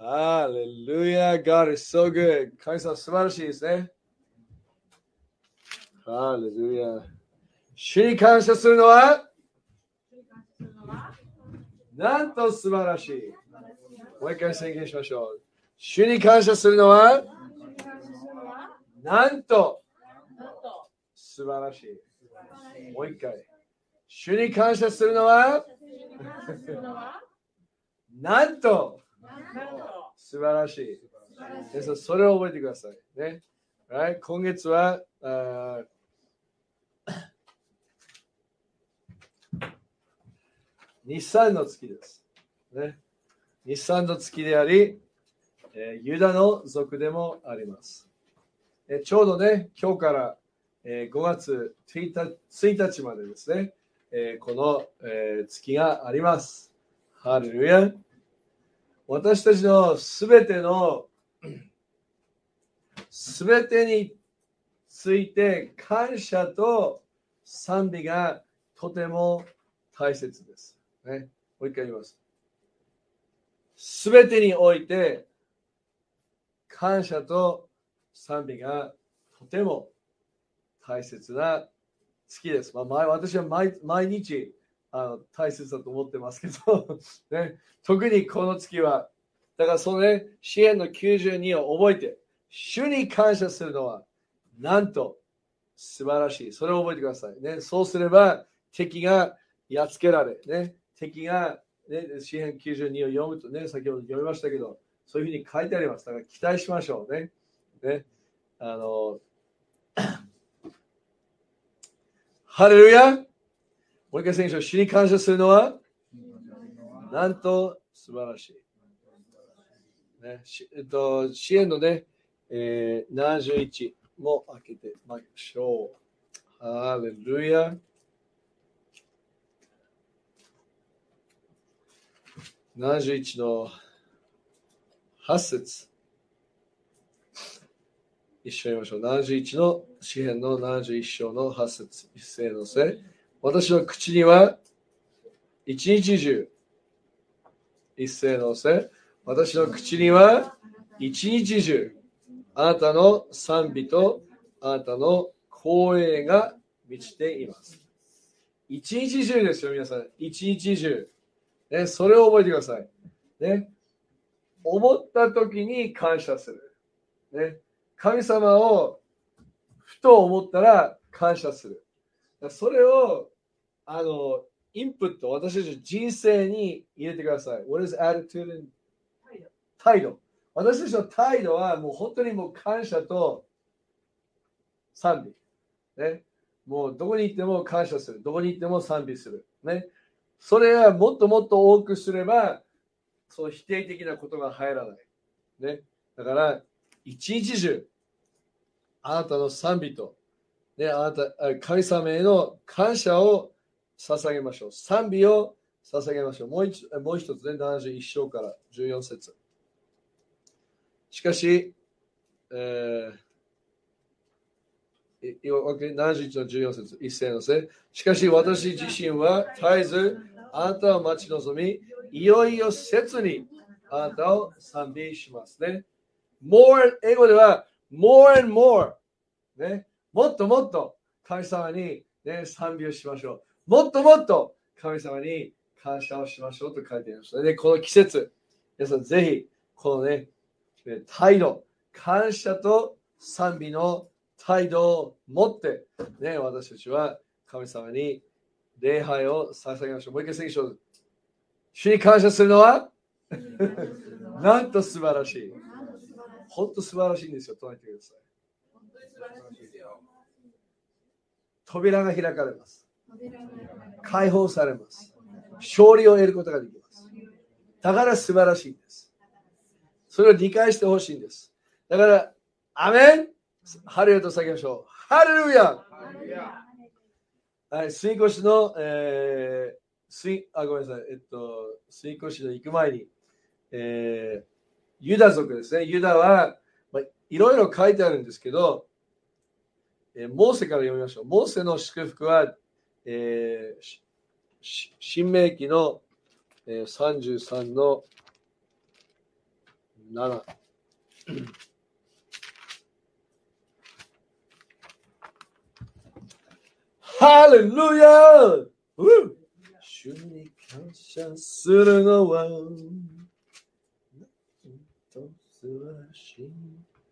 Hallelujah. God is so good. 神様素晴らしいですね。Hallelujah. 主に感謝するのはなんと素晴らしい。もう一回宣言しましょう。主に感謝するのはなんと素晴らしい。もう一回。主に感謝するのはなんと素晴らしい。皆さんそれを覚えてください。ね。Right? 今月は日産の月です。ね、日産の月であり、ユダの族でもあります。ちょうどね、今日から、5月1日までですね、この、月があります。ハレルヤ。私たちのすべてについて感謝と賛美がとても大切です。ね、もう一回言います。すべてにおいて感謝と賛美がとても大切な月です。私は毎日大切だと思ってますけど、ね、特にこの月は、だからそのね、詩篇の92を覚えて、主に感謝するのはなんと素晴らしい。それを覚えてください。ね、そうすれば敵がやっつけられ、ね、敵が、ね、詩篇92を読むとね、先ほど読みましたけど、そういうふうに書いてあります。だから期待しましょうね。ね、ハレルヤ。もう一回選手を主に感謝するのはなんと素晴らしい。ね、支援のね、71も開けてまいりましょう。ハレルヤ。71の8節。一緒に言いましょう。71の詩篇の71章の8節。一斉のせ。私の口には一日中、一斉のせ。私の口には一日中、あなたの賛美とあなたの光栄が満ちています。一日中ですよ、皆さん。一日中。ね、それを覚えてください。ね、思った時に感謝する。ね、神様をふと思ったら感謝する。それをインプット、私たちの人生に入れてください。What is attitude and 態度。私たちの態度はもう本当にもう感謝と賛美。ね、もうどこに行っても感謝する。どこに行っても賛美する。ね、それはもっともっと多くすれば、その否定的なことが入らない。ね、だから、一日中、あなたの賛美と、ね、神様への感謝を捧げましょう。賛美を捧げましょう。もう一つね、71章から14節。しかし、71の14節、一斉のせ。しかし私自身は絶えずあなたを待ち望み、いよいよ切にあなたを賛美しますね。英語では more and more、ね、もっともっと神様に、ね、賛美をしましょう。もっともっと神様に感謝をしましょうと書いてあります。で、この季節、皆さんぜひこのね、態度、感謝と賛美の態度を持って、ね、私たちは神様に礼拝を捧げましょう。もう一回聖書を。主に感謝するのはなんと素晴らしい。本当素晴らしいんですよ。唱えてください。扉が開かれます。解放されます。勝利を得ることができます。だから素晴らしいんです。それを理解してほしいんです。だから、アメン、ハレルヤと叫びましょう。ハレルヤ。はい、水越の、ごめんなさい。水越の行く前に、ユダ族ですね。ユダは、いろいろ書いてあるんですけど、モーセから読みましょう。モーセの祝福は、新明記の、33の 7。ハレルヤー、主に感謝するのはと素晴らしい。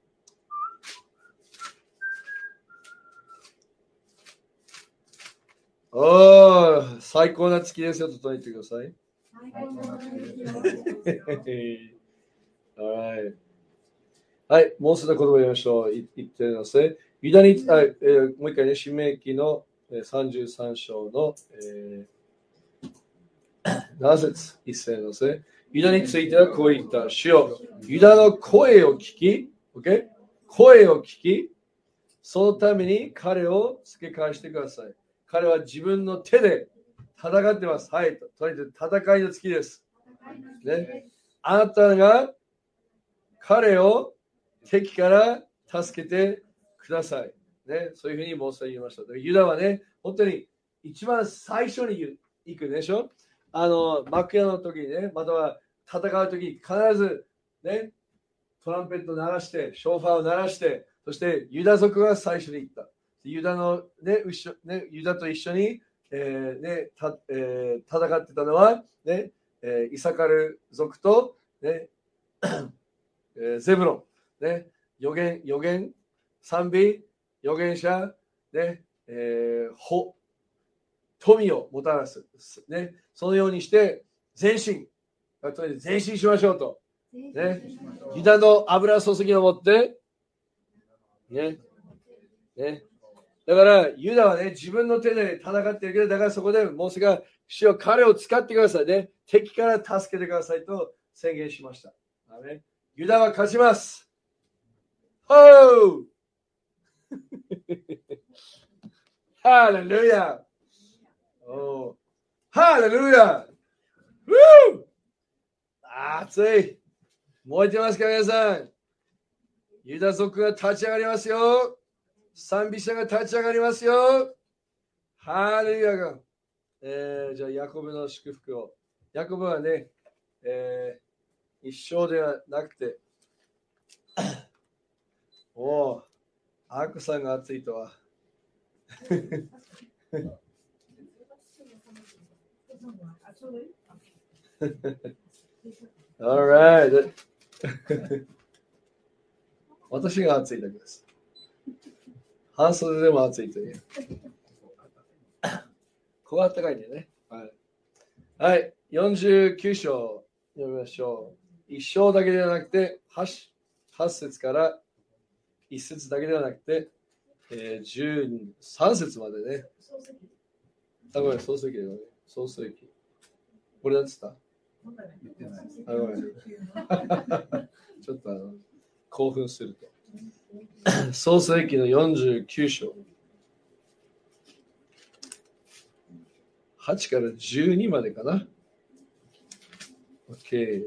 おー、最高な月ですよと言ってください。Alright。はい、もうすぐ言葉を言いましょう。言ってみますね。ユダに、もう一回ね、申命記の33章の、7節1節のですね。ユダについてはこう言った。主よ、ユダの声を聞き、okay? 声を聞き、そのために彼を付け返してください。彼は自分の手で戦ってます。はい。とりあえず戦いの月です。ね。あなたが彼を敵から助けてください。ね。そういうふうにモーセは言いました。ユダはね、本当に一番最初に行くでしょ。幕屋の時にね、または戦う時に必ずね、トランペットを鳴らして、ショーファーを鳴らして、そしてユダ族が最初に行った。ユダの、ユダと一緒に、戦ってたのは、イサカル族と、ゼブロン、預言、賛美、預言者、富をもたらす、そのようにして前進しましょうと。ユダの油注ぎを持って、だからユダはね、自分の手で戦っているけど、だからそこでモーセが主よ彼を使ってくださいね。敵から助けてくださいと宣言しました。ユダは勝ちます。ほーハレルヤハレルヤ熱い燃えてますか皆さん。ユダ族が立ち上がりますよ。賛美者が立ち上がりますよ。ハレルヤが、じゃあヤコブの祝福を。ヤコブはね、一生ではなくてアークさんが熱いとはAlright 私が熱いだけです。半袖でも暑いという。ここは暖かいんだよね。はい。49章読みましょう。1章だけではなくて、8節から1節だけではなくて、13節までね。ごめん、創世記だよね。創世記。これなんつったごめん。ちょっと興奮すると。創世記の49章。8から12までかな。OK。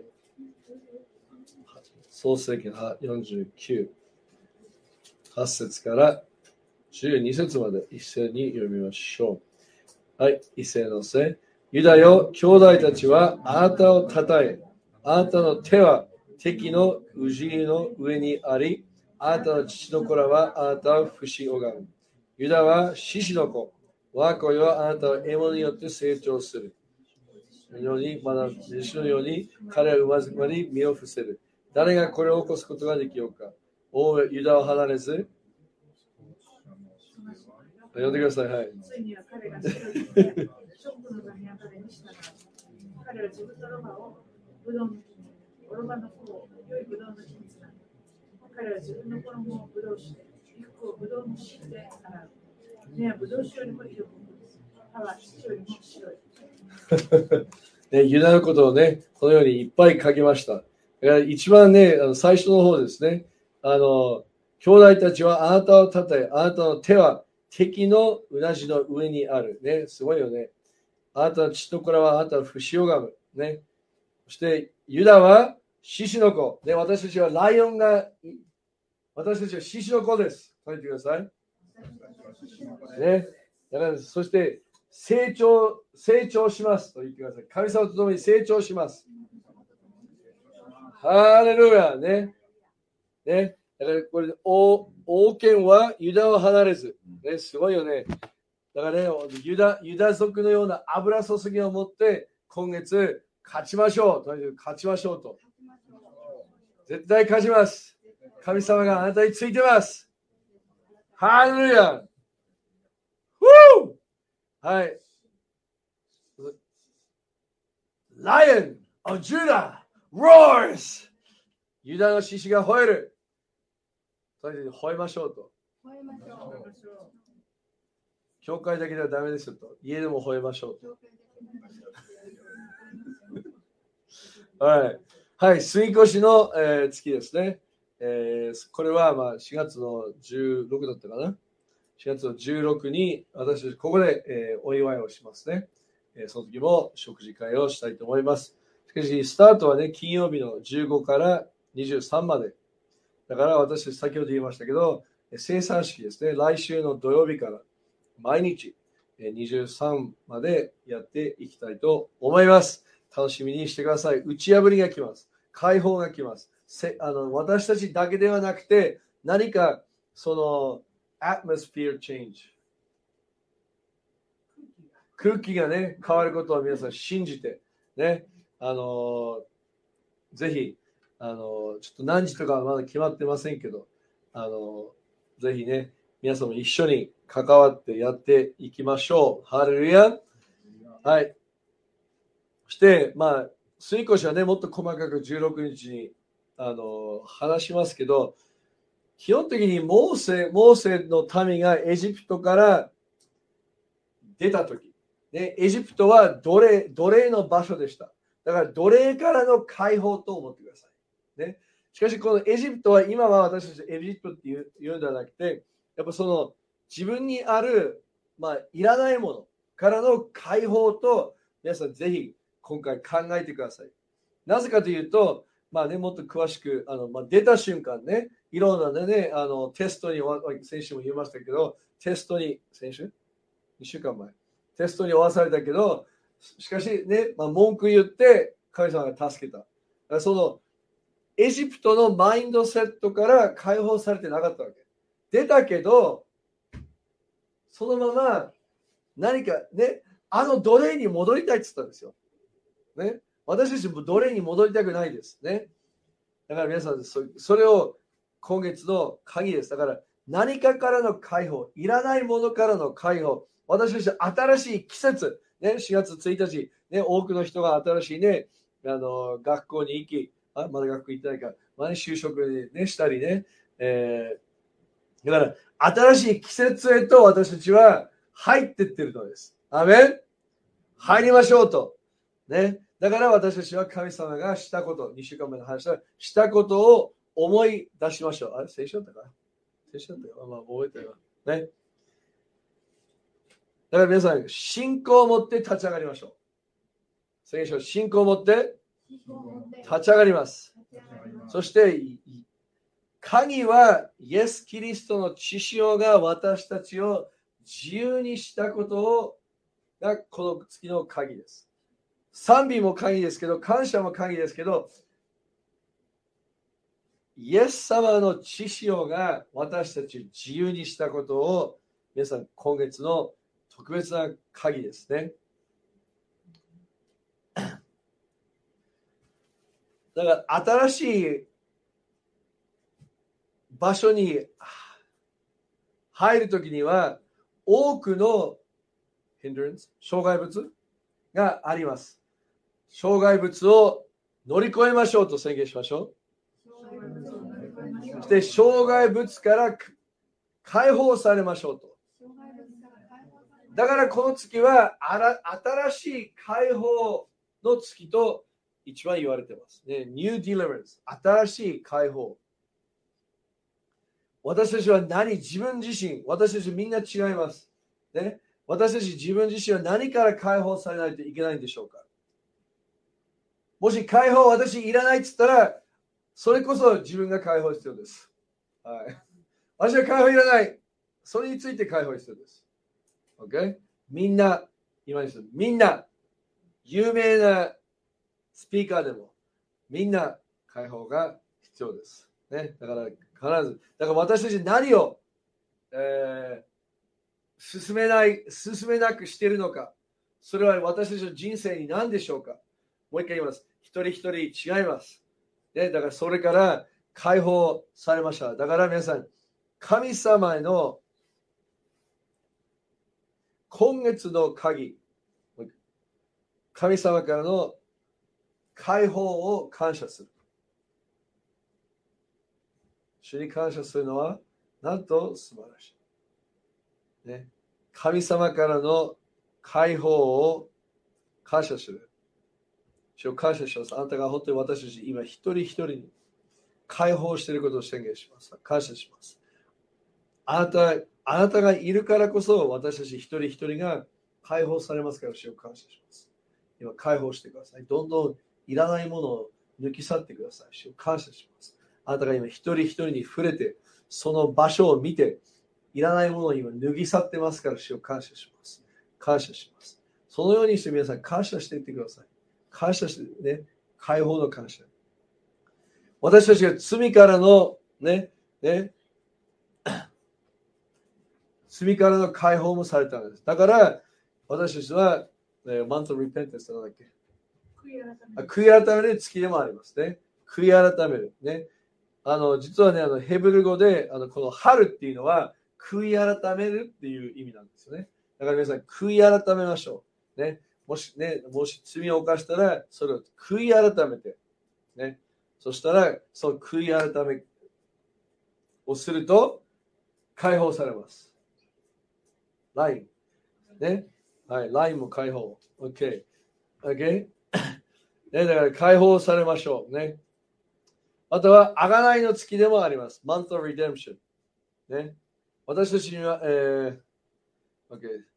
創世記の49。8節から12節まで一斉に読みましょう。はい、一斉のせ。ユダよ、兄弟たちはあなたをたたえ、あなたの手は敵の氏の上にあり、あなたの父の子らはあなたを不死拝む。ユダは獅子の子、我が子よあなたは獲物によって成長する。ように、まだ弟子のように彼は馬ずまに身を伏せる。誰がこれを起こすことができようか。王ユダを離れず、呼んでください。はい。ついには彼が白いショックの名に彼に従う。彼は自分のロバをブドウの木に、オロバの子を良いブドウの木につなぐ。彼は自分の衣をブドウ酒で、衣服をブドウの汁で洗う。目はブドウ酒よりも色濃く、歯は土よりも白い。ユダのことをね、このようにいっぱい書きました。一番ね、最初の方ですね。兄弟たちはあなたをたたえ、あなたの手は敵のうなじの上にある。ね、すごいよね。あなたの父の子らはあなたを不死拝む。ね。そして、ユダは獅子の子。ね、私たちはライオンが、私たちは獅子の子です。書いてください。ね。だから、そして、成長しますと言ってください。神様と共に成長します。 ハレルヤね。ね。だからこれ、王権はユダを離れず。ね、すごいよね。だからね、ユダ族のような油注ぎを持って、今月、勝ちましょう。とにかく勝ちましょうと。絶対勝ちます。神様があなたについてます。ハレルヤ。はい。Lion of Judah roars! ユダの獅子が吠える。とにかく吠えましょうと。教会だけではダメですよと。家でも吠えましょうと。はい。はい。杉越の、月ですね。これはまあ4月の16だったかな。4月の16に私たちここで、お祝いをしますね。その時も食事会をしたいと思います。しかし、スタートはね、金曜日の15から23まで。だから私たち先ほど言いましたけど、生産式ですね。来週の土曜日から毎日23までやっていきたいと思います。楽しみにしてください。打ち破りが来ます。解放が来ます。私たちだけではなくて、何かそのatmosphere change。空気がね、変わることを皆さん信じて、ね、ぜひ、ちょっと何時とかはまだ決まってませんけど、ぜひね、皆さんも一緒に関わってやっていきましょう。ハレルヤ。はい。そして、まあ、杉越はね、もっと細かく16日に話しますけど、基本的にモーセの民がエジプトから出たとき、ね、エジプトは奴隷の場所でした。だから奴隷からの解放と思ってください。ね、しかしこのエジプトは今は私たちエジプトって言うんではなくて、やっぱその自分にある、まあ、いらないものからの解放と皆さんぜひ今回考えてください。なぜかというと、まあね、もっと詳しく出た瞬間ね、いろんなね、テストに、先週も言いましたけど、テストに、先週 ?2 週間前。テストに追わされたけど、しかしね、文句言って神様が助けた。そのエジプトのマインドセットから解放されてなかったわけ。出たけど、そのまま何かね、奴隷に戻りたいって言ったんですよ。ね、私たちも奴隷に戻りたくないですね。だから皆さん、それを今月の鍵です。だから何かからの解放、いらないものからの解放、私たち新しい季節、ね、4月1日、ね、多くの人が新しいね、学校に行き、まだ学校行ってないから、就職に、ね、したりね、だから新しい季節へと私たちは入っていってるのです。アメン。入りましょうと。ね。だから私たちは神様がしたこと、2週間前の話したことを思い出しましょう。あれ、聖書だったか聖書だったか覚えてるわ。ね。だから皆さん、信仰を持って立ち上がりましょう。聖書、信仰を持って立ち上がります。そして、鍵はイエス・キリストの血潮が私たちを自由にしたことがこの月の鍵です。賛美も鍵ですけど、感謝も鍵ですけど、イエス様の血潮が私たちを自由にしたことを皆さん今月の特別な鍵ですね。だから新しい場所に入るときには多くの障害物があります。障害物を乗り越えましょうと宣言しましょう。そして障害物から解放されましょうと。だからこの月は新しい解放の月と一番言われていますね。New Deliverance、新しい解放。私たちは自分自身、私たちみんな違います。ね、私たち自分自身は何から解放されないといけないんでしょうか。もし解放私いらないって言ったら、それこそ自分が解放必要です。はい、私は解放いらない。それについて解放必要です。Okay? みんな、有名なスピーカーでも、みんな解放が必要です。ね、だから必ず、だから私たち何を、進めなくしているのか、それは私たちの人生に何でしょうか。もう一回言います。一人一人違います。ね、だからそれから解放されました。だから皆さん、神様への今月の鍵、神様からの解放を感謝する。主に感謝するのは、なんと素晴らしい。ね、神様からの解放を感謝する。主を感謝します。あなたが本当に私たち今一人一人に解放していることを宣言します。感謝します。あなたがいるからこそ私たち一人一人が解放されますから、主を感謝します。今解放してください。どんどんいらないものを抜き去ってください。主を感謝します。あなたが今一人一人に触れて、その場所を見て、いらないものを今脱ぎ去ってますから、主を感謝します。感謝します。そのようにして皆さん感謝していってください。感謝してね、解放の感謝。私たちが罪からの罪からの解放もされたんです。だから私たちは、マントリペンテンスなんだっけ、悔い改める月でもありますね。悔い改めるね。実はね、ヘブル語でこの春っていうのは悔い改めるっていう意味なんですよね。だから皆さん悔い改めましょうね。もし罪を犯したらそれを悔い改めてね。そしたらその悔い改めをすると解放されます。ラインね。はい、ラインも解放。OK。OK。ね、だから解放されましょうね。あとは、贖いの月でもあります。Month of Redemption。ね、私たちには、OK。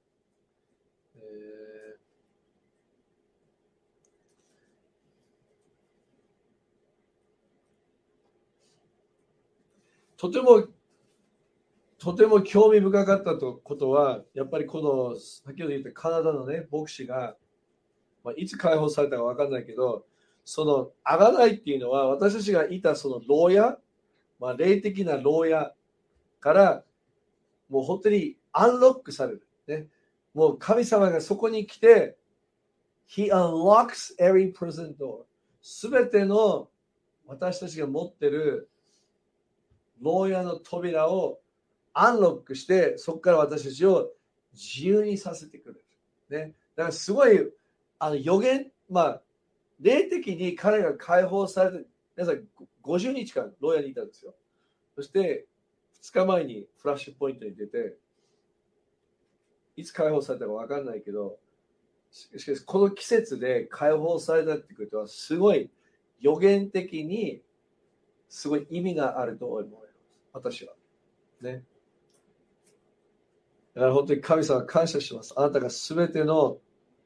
とても興味深かったことは、やっぱりこの、先ほど言ったカナダのね、牧師が、いつ解放されたか分かんないけど、その贖いっていうのは、私たちがいたその牢屋、霊的な牢屋から、もう本当にアンロックされる。ね、もう神様がそこに来て、He unlocks every prison door。すべての私たちが持ってる牢屋の扉をアンロックして、そこから私たちを自由にさせてくれる。ね、だからすごい予言、霊的に彼が解放されて、皆さん50日間牢屋にいたんですよ。そして2日前にフラッシュポイントに出て、いつ解放されたか分かんないけど、しかしこの季節で解放されたってことはすごい予言的にすごい意味があると思います。私はね。だから本当に神様感謝します。あなたがすべての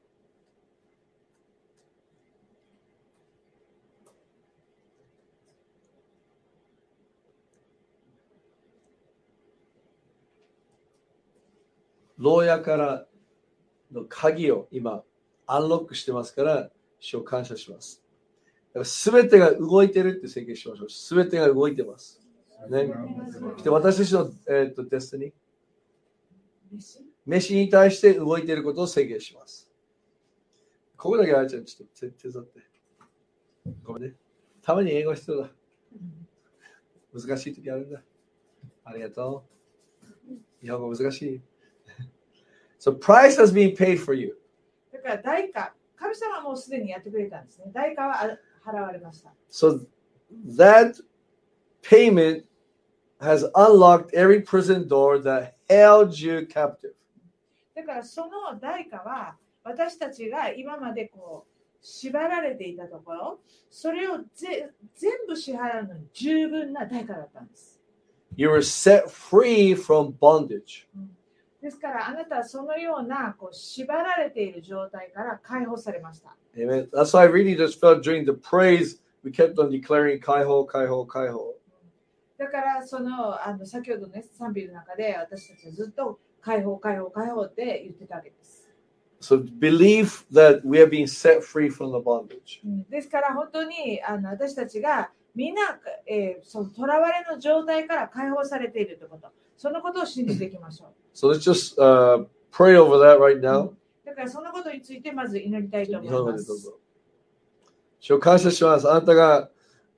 牢屋からの鍵を今アンロックしてますから、主を感謝します。すべてが動いてるって宣言しましょう。すべてが動いてます。ね。で私たちの、デスティニー、飯に対して動いていることを宣言します。ここだけあいちゃん、ちょっと手伝って。ごめんね。たまに英語必要だ。難しい時あるんだ。ありがとう。日本語難しい。So price has been paid for you. だから代価、神様はもうすでにやってくれたんですね。代価は払われました。 So that payment has unlocked every prison door that held you captive. だからその代価は私たちが今までこう縛られていたところ、それを全部支払うのに十分な代価だったんです。 You were set free from bondage. ですからあなたはそのようなこう縛られている状態から解放されました。 Amen. That's why I really just felt during the praise we kept on declaring 解放、解放、解放。 だから先ほどね賛美の中で私たちはずっと解放解放解放って言ってたわけです。 So believe that we are being set free from the bondage. ですから本当に私たちがみんな、その囚われの状態から解放されているということ、そのことを信じていきましょう。 So let's just pray over that right now. だからそのことについてまず祈りたいと思います。 主を感謝します。あなたが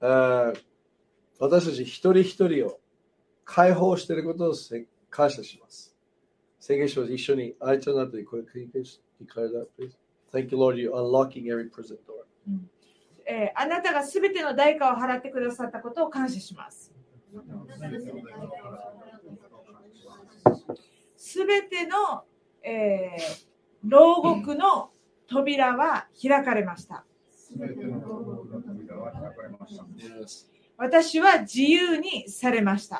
私たち一人一人を解放していることを感謝します。宣言します。一緒に愛となって、これ繰り返しdeclare that, please. Thank you, Lord, you're unlocking every prison door. あなたがすべての代価を払ってくださったことを感謝します。すべての、牢獄の扉は開かれました。私は自由にされました。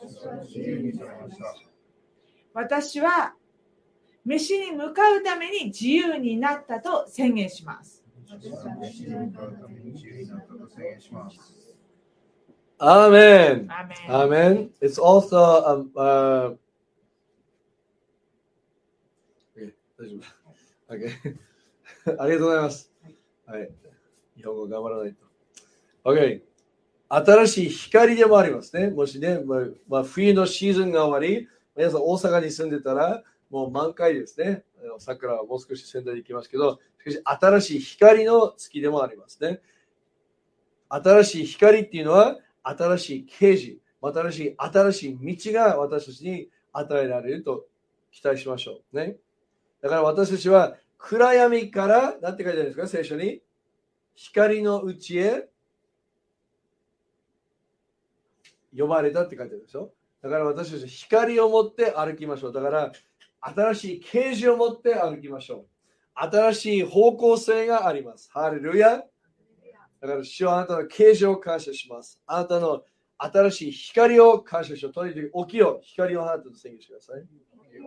私は飯に向かうために自由になったと宣言します。 アーメン。アーメン。It's also大丈夫。Okay. ありがとうございます。はい。日本語頑張らないと。Okay. 新しい光でもありますね。もしね、冬のシーズンが終わり、皆さん大阪に住んでたらもう満開ですね。桜はもう少し仙台に行きますけど、しかし新しい光の月でもありますね。新しい光っていうのは新しい啓示、新しい道が私たちに与えられると期待しましょうね。だから私たちは暗闇から、なんて書いてあるんですか、聖書に。光のうちへ呼ばれたって書いてあるでしょ。だから私たち光を持って歩きましょう。だから新しい啓示を持って歩きましょう。新しい方向性があります。ハレルヤ。だから主はあなたの啓示を感謝します。あなたの新しい光を感謝しよう。とにかく起きよう。光を放ってと宣言してください。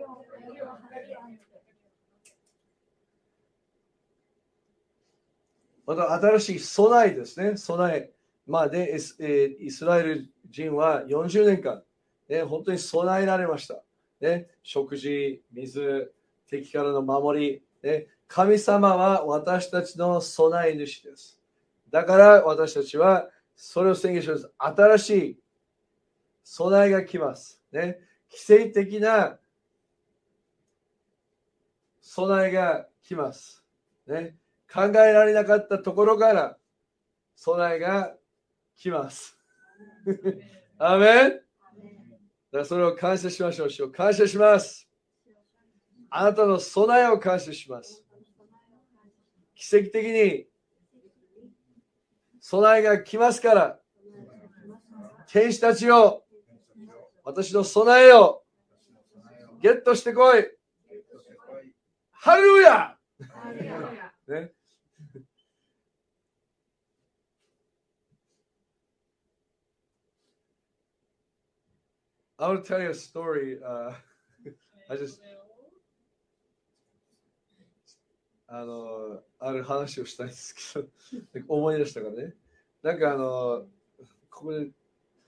また新しい備えですね。備え。で、イスラエル人は40年間、ね、本当に備えられました。ね、食事、水、敵からの守り、ね。神様は私たちの備え主です。だから私たちはそれを宣言します。新しい備えが来ます。ね、奇跡的な備えが来ます。ね、考えられなかったところから備えが来ます。アーメン。だからそれを感謝しましょう。主を感謝します。あなたの備えを感謝します。奇跡的に備えが来ますから、天使たちを、私の備えをゲットしてこい。ハレルヤ、ね。I will tell you a story. I just ある話をしたいんですけど思い出したからね。なんかここで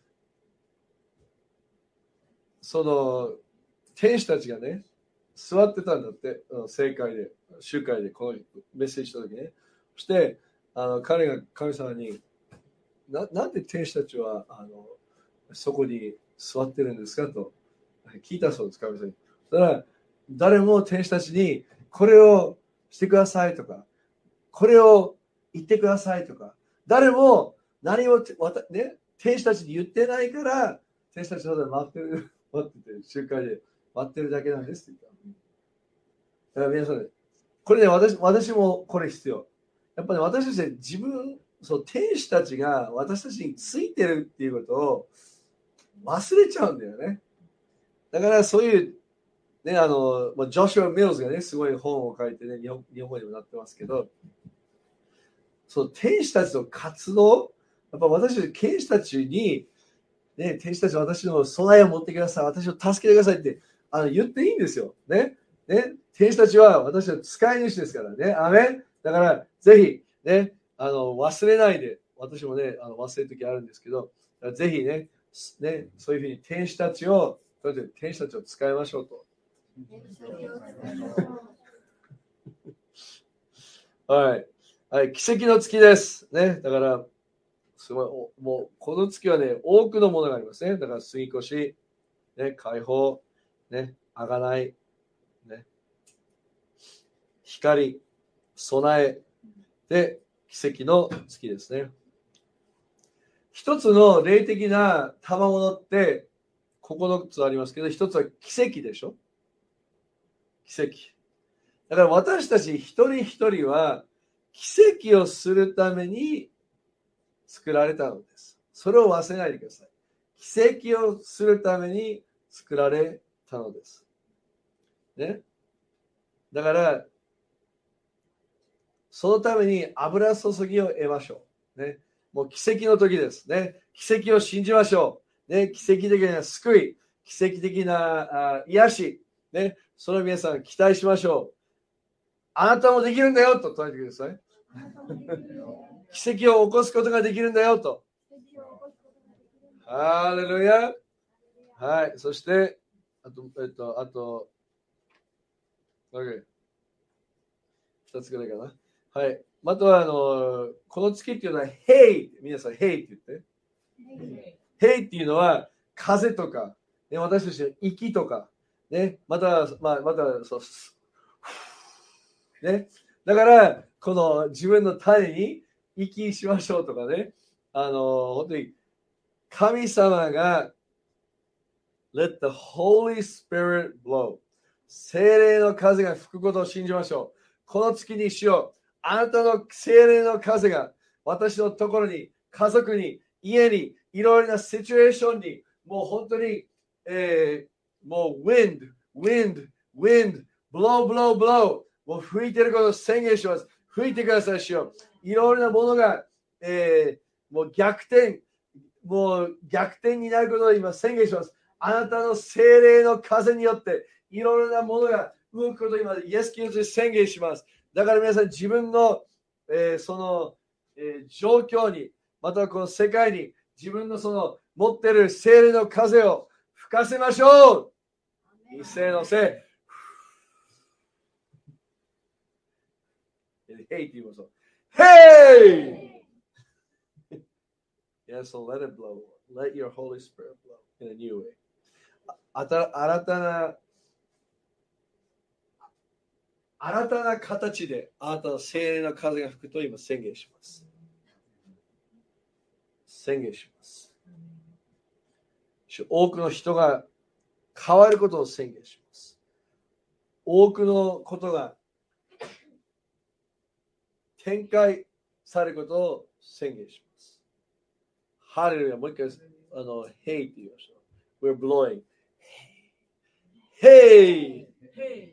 その天使たちがね座ってたんだって、正会で集会でこのメッセージした時ね。そして彼が神様になんで天使たちはそこに座ってるんですかと聞いたそうです。神様に。だから誰も天使たちにこれをしてくださいとか、これを言ってくださいとか、誰も何もね、天使たちに言ってないから、天使たちの待ってて、集会で待ってるだけなんですって言った。だから皆さん、これね、私もこれ必要。やっぱり、私たちは自分、天使たちが私たちについてるっていうことを忘れちゃうんだよね。だからそういうね、ジョシュア・ミルズがね、すごい本を書いてね、日本語にもなってますけど、天使たちの活動、やっぱ私たち、天使たちに、ね、天使たちは私の備えを持ってください、私を助けてくださいって言っていいんですよ。ね。天使たちは私の使い主ですからね。アメン。だから、ぜひ、ね、忘れないで、私もね、忘れるときあるんですけど、ぜひね、そういうふうに天使たちを使いましょうと。 はい。はい。奇跡の月です。ね。だから、すごい、もう、この月はね、多くのものがありますね。だから、杉越、ね、解放、ね、あがない、ね、光、備え、で、奇跡の月ですね。一つの霊的な賜物って9つありますけど、一つは奇跡でしょ。奇跡。だから私たち一人一人は奇跡をするために作られたのです。それを忘れないでください。奇跡をするために作られたのです。ね。だから、そのために油注ぎを得ましょう。ね。もう奇跡の時ですね。奇跡を信じましょう。ね。奇跡的な救い、奇跡的な癒し、ね。それを皆さん期待しましょう。あなたもできるんだよと唱えてください。奇跡を起こすことができるんだよと。ハレルヤ。はい。そして、あと、OK。2つぐらいかな。はい。または、この月っていうのは、Hey! 皆さん、Hey って言って。Hey っていうのは、風とか、ね、私たちの息とか、ね、また、そう、ね。だから、この自分の種に息しましょうとかね。本当に、神様が、Let the Holy Spirit blow。聖霊の風が吹くことを信じましょう。この月にしよう。あなたの聖霊の風が私のところに、家族に、家に、いろいろなシチュエーションに、もう本当に、もう wind、blow、もう吹いてることを宣言します。吹いてくださいしよう。いろいろなものが、もう逆転になることを今宣言します。あなたの聖霊の風によっていろいろなものが動くことを今イエス・キリストに宣言します。だから皆さん自分の、その、状況に、またはこの世界に自分のその持っている聖霊の風を吹かせましょう。一斉のせい。Hey って言いましょう。Hey! Yeah, so let it blow. Let your Holy Spirit blow in a new way. 新たな形であなたの聖霊の風が吹くと今宣言します。宣言します。多くの人が変わることを宣言します。多くのことが展開されることを宣言します。ハレルヤ、もう一回、Hey って言いましょう。We're blowing. Hey! Hey!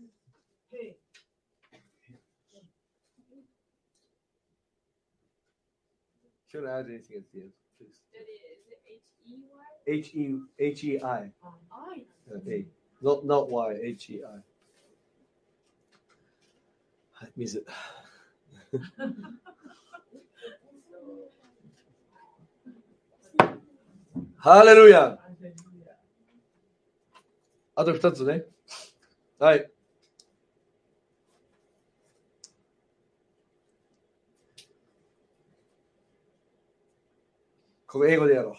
Should I add anything at the end, please? H-E-Y? H-E-I. I. Not Y, H-E-I. はい、水。ハレルヤ。あと2つね。はい。ここ英語でやろう。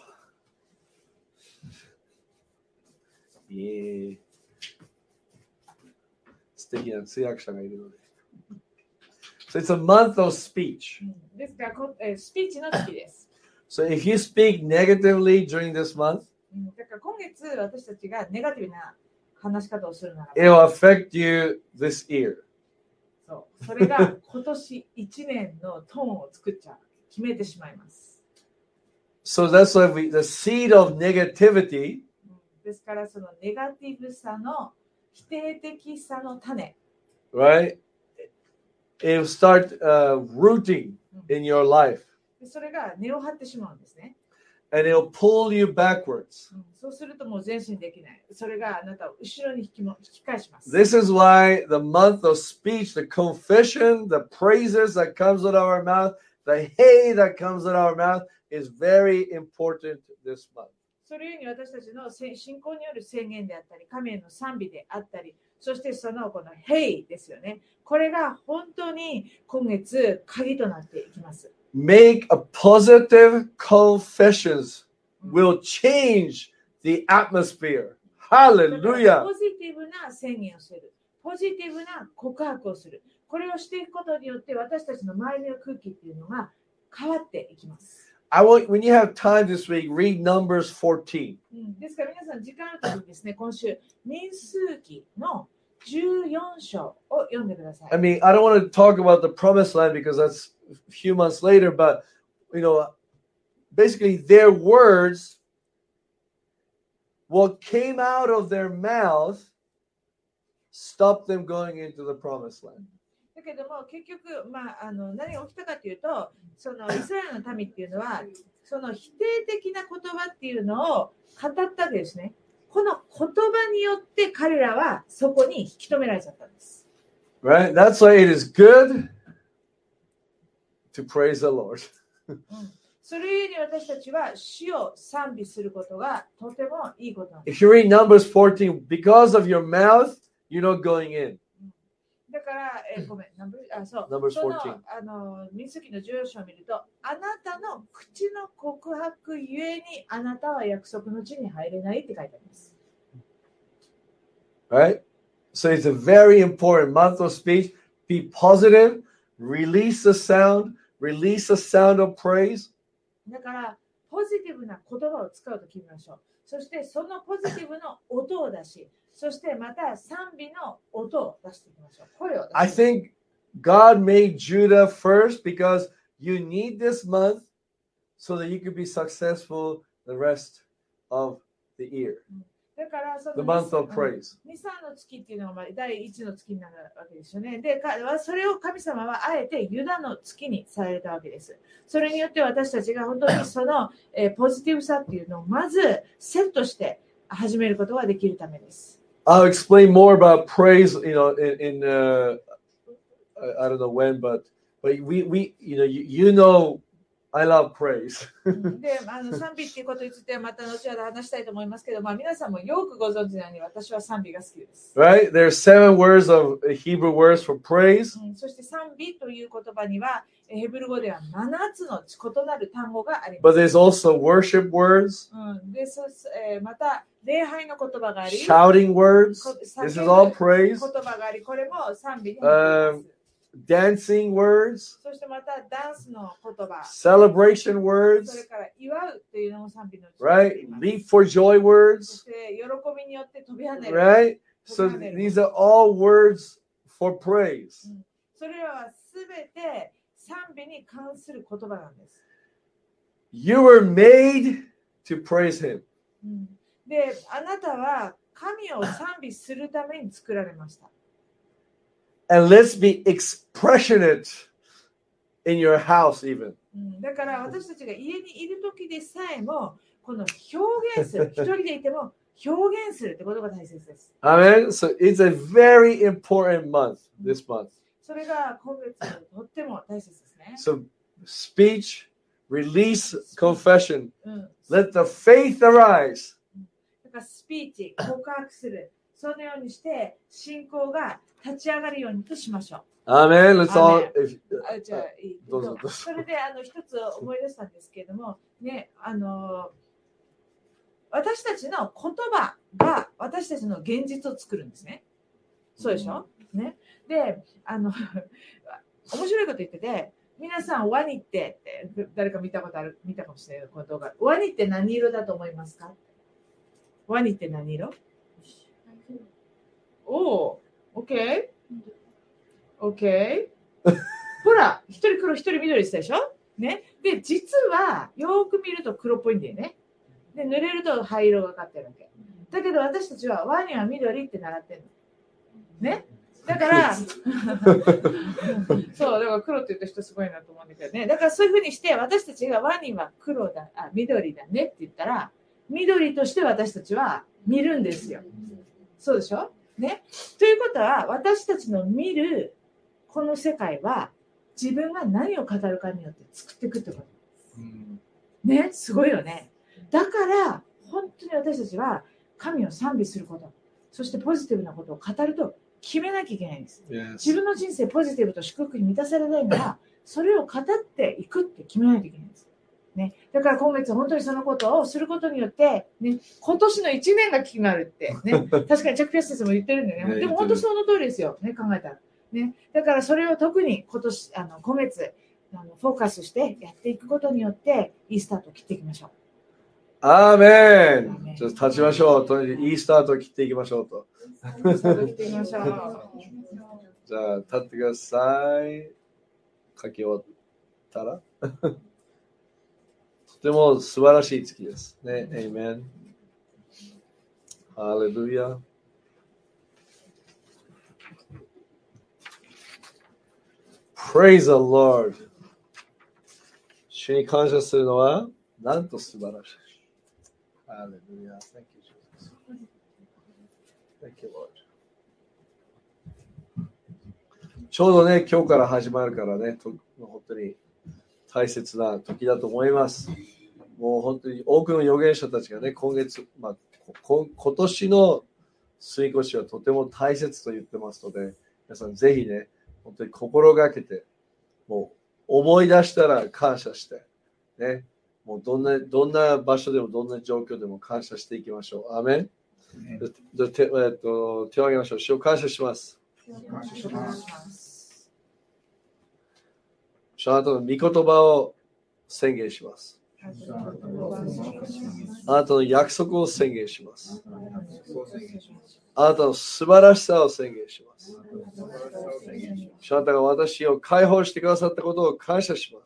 素敵な通訳者がいるので。So it's a month of speech. ですからスピーチの月です。 So if you speak negatively during this month, だから今月私たちがネガティブな話し方をするならば、 it will affect you this year. それが今年1年のトーンを作っちゃう。決めてしまいます。 So that's why the seed of negativity ですからそのネガティブさの否定的さの種、 right? It will start rooting in your life. それが根を張ってしまうんですね。 And it will pull you backwards. そうするともう前進できない。それがあなたを後ろに引き返します。 This is why the month of speech, the confession, the praises that comes out of our mouth, the hey that comes out of our mouth is very important this month. それゆえに私たちの信仰による宣言であったり、神への賛美であったり、 そしてそのこの Hey ですよね。これが本当に今月鍵となっていきます。 Make a positive confessions will change the atmosphere. だから Hallelujah. ポジティブな宣言をする。ポジティブな告白をする。これをしていくことによって私たちの周りの空気っていうのが変わっていきます。 When you have time this week, read Numbers 14. ですから皆さん時間あるときにですね、今週民数記の14章を読んでください。 I mean, I don't want to talk about the promised land because that's a few months later, but basically their words, what came out of their mouth, stopped them going into the promised land. だけども結局、何が起きたかというと、そのイスラエルの民っていうのは、その否定的な言葉っていうのを語ったわけですね。この言葉によって彼らはそこに引き止められちゃったんです。 Right? That's why it is good to praise the Lord. それゆえに私たちは主を賛美することがとてもいいことなんです。 If you read Numbers 14, because of your mouth, you're not going in. だから、ごめん、 Numbers 14. 民数記の14章を見ると、あなたの口の告白ゆえにあなたは約束の地に入れないって書いてあります。 Right? So it's a very important month of speech. Be positive, release the sound of praise. だから、ポジティブな言葉を使うと決めましょう。そしてそのポジティブの音を出し、そしてまた賛美の音を出していきましょう。声を出して。 I think God made Judah first because you need this month so that you can be successful the rest of the year. だからその The month of praise. ニサの月っていうのが第一の月になるわけですよね。で、それを神様はあえてユダの月にされたわけです。それによって私たちが本当にそのポジティブさっていうのをまずセットして始めることができるためです。 I'll explain more about praise, in I don't know when, but we I love praise. で、賛美っていうことについてはまた後ほど話したいと思いますけど、皆さんもよくご存知なように私は賛美が好きです。 Right? There are 7 words of Hebrew words for praise. そして賛美という言葉にはヘブル語では7つの異なる単語があり But ます。 there's also worship words. で、また礼拝の言葉があり、 shouting words. This is all praise. 言葉があり、これも賛美に入っています。 Dancing words. そしてまたダンスの言葉。 Celebration そ words. れから祝うというのも賛美のうちに Right? Leap for joy そ words. して喜びによって飛び跳ねる。 Right? So these are all words for praise. それらはすべて賛美に関する言葉なんです。 You were made to praise Him. で、あなたは神を賛美するために作られました。 And let's be expressionate in your house even. だから私たちが家にいるときでさえもこの表現する、一人でいても表現するってことが大切です。 Amen. So it's a very important month, this month. それが今月とっても大切ですね。 So speech, release, confession. Let the faith arise. だからスピーチ、告白する。そのようにして信仰が立ち上がるようにとしましょう。 Amen. Let's all. じゃあいい。それで一つ思い出したんですけれども、ね、私たちの言葉が私たちの現実を作るんですね。そうでしょ？ね。で、面白いこと言ってて、皆さんワニって誰か見たかもしれないこの動画。ワニって何色だと思いますか？ワニって何色？おー、OK。OK。ほら、一人黒、一人緑したでしょ？ね。で、実は、よく見ると黒っぽいんだよね。で、濡れると灰色がかってるわけ。だけど私たちはワニは緑って習ってるの。ね。だから、そう、だから黒って言った人すごいなと思うんだけどね。だからそういうふうにして、私たちがワニは緑だねって言ったら、緑として私たちは見るんですよ。そうでしょ？ね。ということは、私たちの見るこの世界は、自分が何を語るかによって作っていくってこと。ね、すごいよね。だから、本当に私たちは神を賛美すること。 そしてポジティブなことを語ると決めなきゃいけないんです。 Yes. 自分の人生ポジティブと祝福に満たされないなら、それを語っていくって決めないといけないんです。ね、だから今月本当にそのことをすることによって、ね、今年の1年が決まるって、ね、確かにチャック・ピアス先生も言ってるんだよね。でも本当その通りですよ、ね、考えたら、ね。だからそれを特に今月フォーカスしてやっていくことによっていいスタートを切っていきましょう。 アーメン。ちょっと立ちましょう。とにかくいいスタートを切っていきましょうと。 スタート切っていきましょう。 じゃあ立ってください。書き終わったらとても素晴らしい月ですね。エイメン。ハレルヤ。Praise the Lord。主に感謝するのはなんと素晴らしい。ハレルヤ。Thank you, Jesus. Thank you, Lord。ちょうどね、今日から始まるからね、本当に大切な時だと思います。もう本当に多くの預言者たちがね、今年の過ごしはとても大切と言ってますので、皆さんぜひね、本当に心がけて、もう思い出したら感謝して、ね、もうどんな場所でもどんな状況でも感謝していきましょう。アーメン。手を挙げましょう。主を感謝します。主あなたの御言葉を宣言します。あなたの約束を宣言します。あなたの素晴らしさを宣言します。主あなたが私を解放してくださったことを感謝します。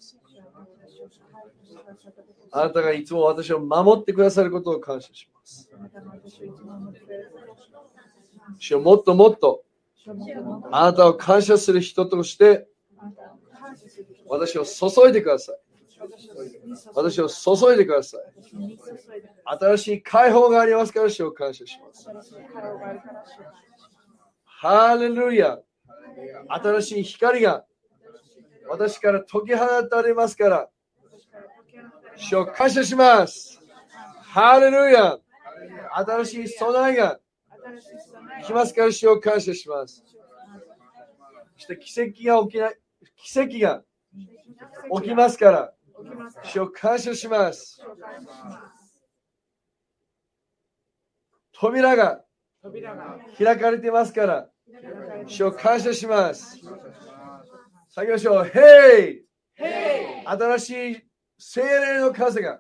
あなたがいつも私を守ってくださることを感謝します。主をもっともっとあなたを感謝する人として私を注いでください。私を注いでください。新しい解放がありますから主を感謝します。ハレルヤ。新しい光が私から解き放たれますから主を感謝します。ハレルヤ。新しい備えが来ますから主を感謝します。そして奇跡が起きますから主を感謝します。扉が開かれていますから主を感謝します。さあ行きましょう。ヘイ、新しい聖霊の風が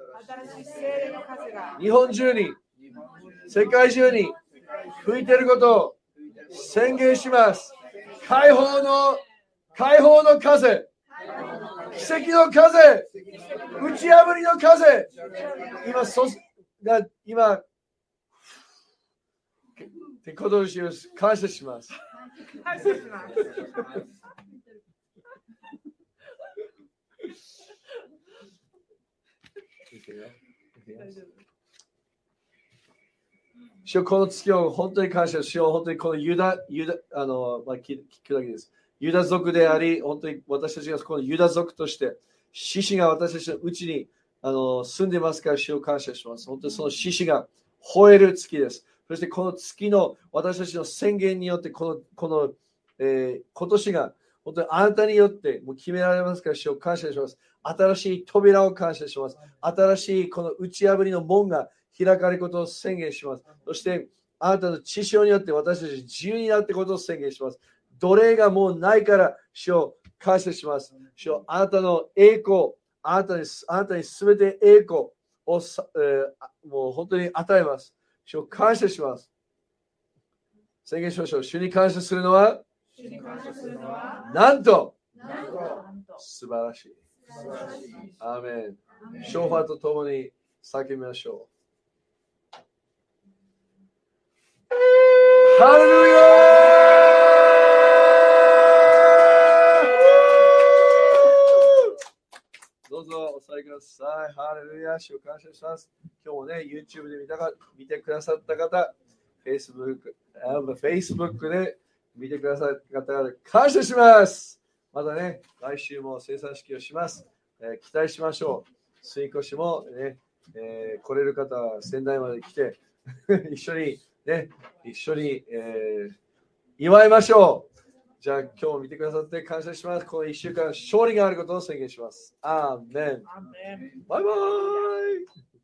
日本中に世界中に吹いていることを宣言します。解放の風、奇跡の風、打ち破りの風、今ってことを感謝します。主よこの月を本当に感謝しよう。本当にこの聞くだけです。ユダ族であり、本当に私たちがこのユダ族として、獅子が私たちのうちに住んでますから主を感謝します。本当にその獅子が吠える月です。そしてこの月の私たちの宣言によって今年が本当にあなたによってもう決められますから主を感謝します。新しい扉を感謝します。新しいこの打ち破りの門が開かれることを宣言します。そしてあなたの血潮によって私たち自由になっていくことを宣言します。奴隷がもうないから主を感謝します。主をあなたの栄光、あなたにすべて栄光を、もう本当に与えます。主を感謝します。宣言しましょう。主に感謝するのはなんと素晴らしい。アーメン。ショーファーとともに叫びましょう。ハレルヤー。どうぞお座りください。ハレルヤ。主を感謝します。今日もね、YouTube で見てくださった方、Facebook で見てくださった方、感謝します。またね、来週も生産式をします。期待しましょう。水越もね、来れる方は仙台まで来て一緒にね、一緒に、祝いましょう。じゃあ今日見てくださって感謝します。この1週間勝利があることを宣言します。アーメン。バイバイ。